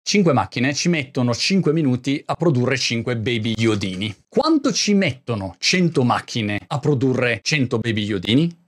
5 macchine ci mettono 5 minuti a produrre 5 baby iodini. Quanto ci mettono 100 macchine a produrre 100 baby iodini?